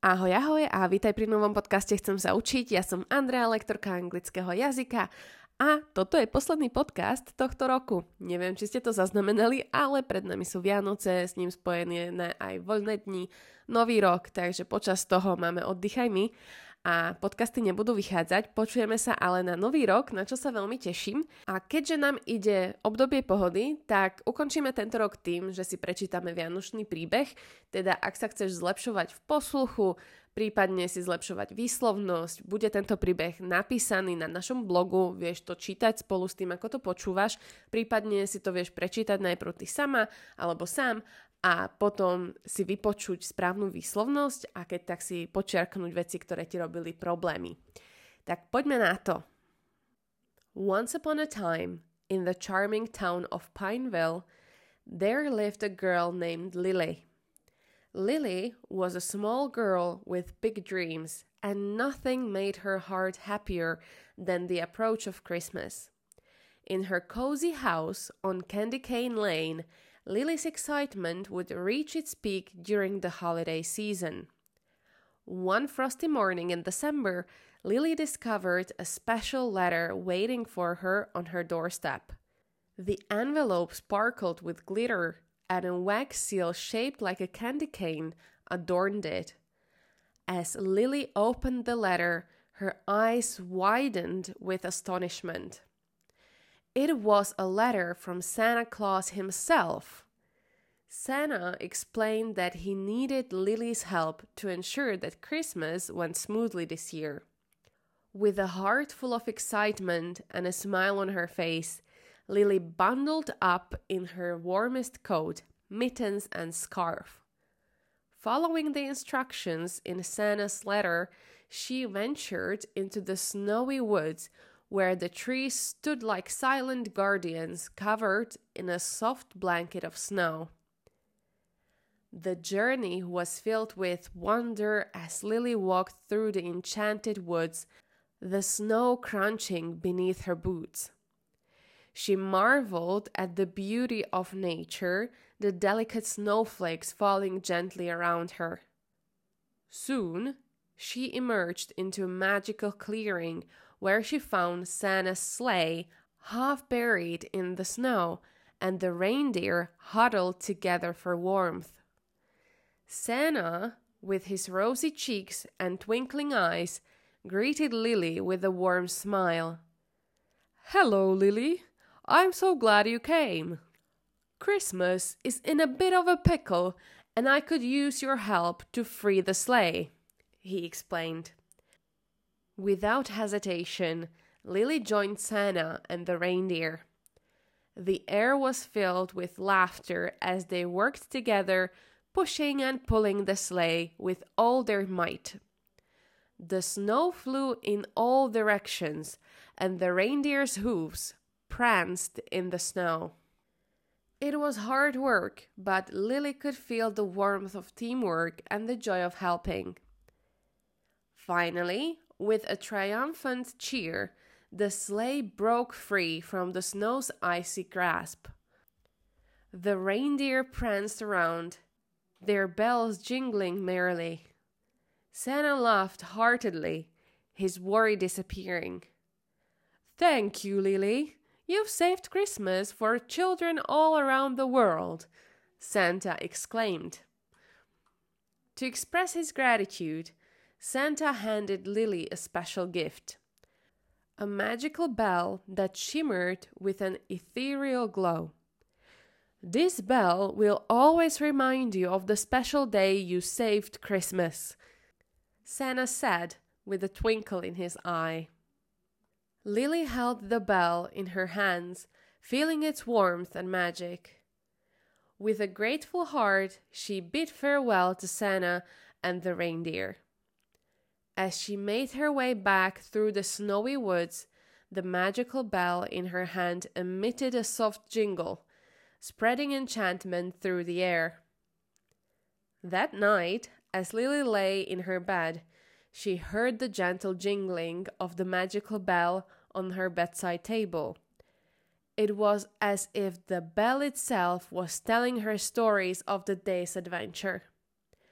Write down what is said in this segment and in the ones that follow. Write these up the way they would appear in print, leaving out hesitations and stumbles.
Ahoj, ahoj a vítaj pri novom podcaste Chcem sa učiť. Ja som Andrea, lektorka anglického jazyka a toto je posledný podcast tohto roku. Neviem, či ste to zaznamenali, ale pred nami sú Vianoce, s ním spojené aj voľné dni, nový rok, takže počas toho máme Oddychaj mi a podcasty nebudú vychádzať, počujeme sa ale na nový rok, na čo sa veľmi teším. A keďže nám ide obdobie pohody, tak ukončíme tento rok tým, že si prečítame vianočný príbeh, teda ak sa chceš zlepšovať v posluchu, prípadne si zlepšovať výslovnosť, bude tento príbeh napísaný na našom blogu, vieš to čítať spolu s tým, ako to počúvaš, prípadne si to vieš prečítať najprv ty sama alebo sám, a potom si vypočuť správnu výslovnosť a keď tak si počiarknúť veci, ktoré ti robili problémy. Tak poďme na to. Once upon a time, in the charming town of Pineville, there lived a girl named Lily. Lily was a small girl with big dreams, and nothing made her heart happier than the approach of Christmas. In her cozy house on Candy Cane Lane, Lily's excitement would reach its peak during the holiday season. One frosty morning in December, Lily discovered a special letter waiting for her on her doorstep. The envelope sparkled with glitter, and a wax seal shaped like a candy cane adorned it. As Lily opened the letter, her eyes widened with astonishment. It was a letter from Santa Claus himself. Santa explained that he needed Lily's help to ensure that Christmas went smoothly this year. With a heart full of excitement and a smile on her face, Lily bundled up in her warmest coat, mittens, and scarf. Following the instructions in Santa's letter, she ventured into the snowy woods where the trees stood like silent guardians covered in a soft blanket of snow. The journey was filled with wonder as Lily walked through the enchanted woods, the snow crunching beneath her boots. She marveled at the beauty of nature, the delicate snowflakes falling gently around her. Soon, she emerged into a magical clearing where she found Santa's sleigh half buried in the snow and the reindeer huddled together for warmth. Santa, with his rosy cheeks and twinkling eyes, greeted Lily with a warm smile. "Hello, Lily. I'm so glad you came. Christmas is in a bit of a pickle, and I could use your help to free the sleigh," he explained. Without hesitation, Lily joined Santa and the reindeer. The air was filled with laughter as they worked together, pushing and pulling the sleigh with all their might. The snow flew in all directions, and the reindeer's hooves pranced in the snow. It was hard work, but Lily could feel the warmth of teamwork and the joy of helping. Finally, with a triumphant cheer, the sleigh broke free from the snow's icy grasp. The reindeer pranced around, their bells jingling merrily. Santa laughed heartily, his worry disappearing. "Thank you, Lily. You've saved Christmas for children all around the world," Santa exclaimed. To express his gratitude, Santa handed Lily a special gift, a magical bell that shimmered with an ethereal glow. "This bell will always remind you of the special day you saved Christmas," Santa said with a twinkle in his eye. Lily held the bell in her hands, feeling its warmth and magic. With a grateful heart, she bid farewell to Santa and the reindeer. As she made her way back through the snowy woods, the magical bell in her hand emitted a soft jingle, spreading enchantment through the air. That night, as Lily lay in her bed, she heard the gentle jingling of the magical bell on her bedside table. It was as if the bell itself was telling her stories of the day's adventure.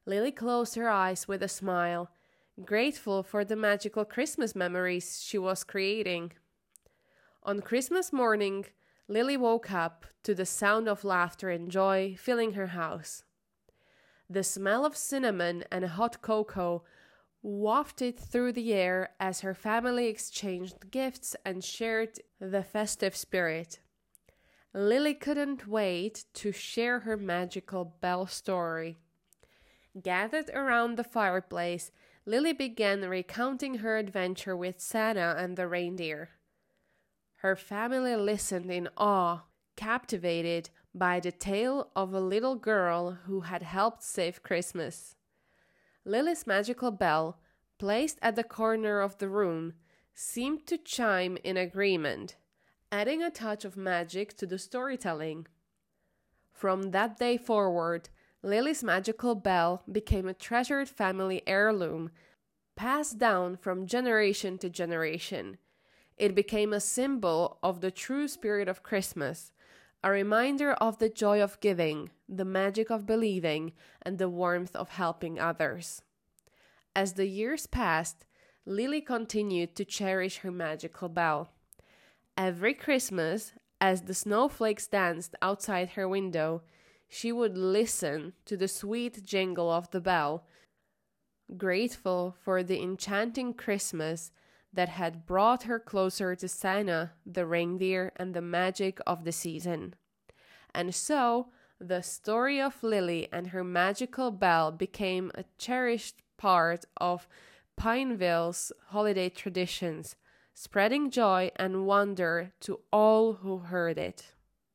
Lily closed her eyes with a smile, grateful for the magical Christmas memories she was creating. On Christmas morning, Lily woke up to the sound of laughter and joy filling her house. The smell of cinnamon and hot cocoa wafted through the air as her family exchanged gifts and shared the festive spirit. Lily couldn't wait to share her magical bell story. Gathered around the fireplace, Lily began recounting her adventure with Santa and the reindeer. Her family listened in awe, captivated by the tale of a little girl who had helped save Christmas. Lily's magical bell, placed at the corner of the room, seemed to chime in agreement, adding a touch of magic to the storytelling. From that day forward, Lily's magical bell became a treasured family heirloom, passed down from generation to generation. It became a symbol of the true spirit of Christmas, a reminder of the joy of giving, the magic of believing, and the warmth of helping others. As the years passed, Lily continued to cherish her magical bell. Every Christmas, as the snowflakes danced outside her window, she would listen to the sweet jingle of the bell, grateful for the enchanting Christmas that had brought her closer to Santa, the reindeer, and the magic of the season. And so, the story of Lily and her magical bell became a cherished part of Pineville's holiday traditions, spreading joy and wonder to all who heard it.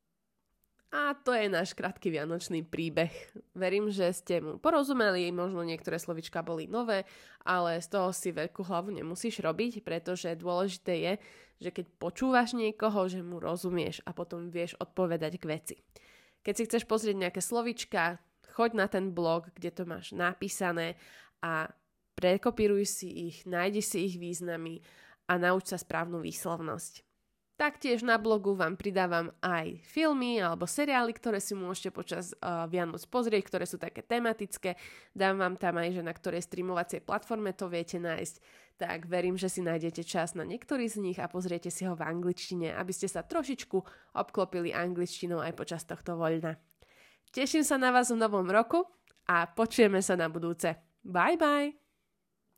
A to je náš krátky vianočný príbeh. Verím, že ste mu porozumeli, možno niektoré slovička boli nové, ale z toho si veľkú hlavu nemusíš robiť, pretože dôležité je, že keď počúvaš niekoho, že mu rozumieš a potom vieš odpovedať k veci. Keď si chceš pozrieť nejaké slovička, choď na ten blog, kde to máš napísané a prekopíruj si ich, nájdi si ich významy a nauč sa správnu výslovnosť. Taktiež na blogu vám pridávam aj filmy alebo seriály, ktoré si môžete počas Vianoc pozrieť, ktoré sú také tematické. Dám vám tam aj, že na ktorej streamovacej platforme to viete nájsť. Tak verím, že si nájdete čas na niektorý z nich a pozriete si ho v angličtine, aby ste sa trošičku obklopili angličtinou aj počas tohto voľna. Teším sa na vás v novom roku a počujeme sa na budúce. Bye bye!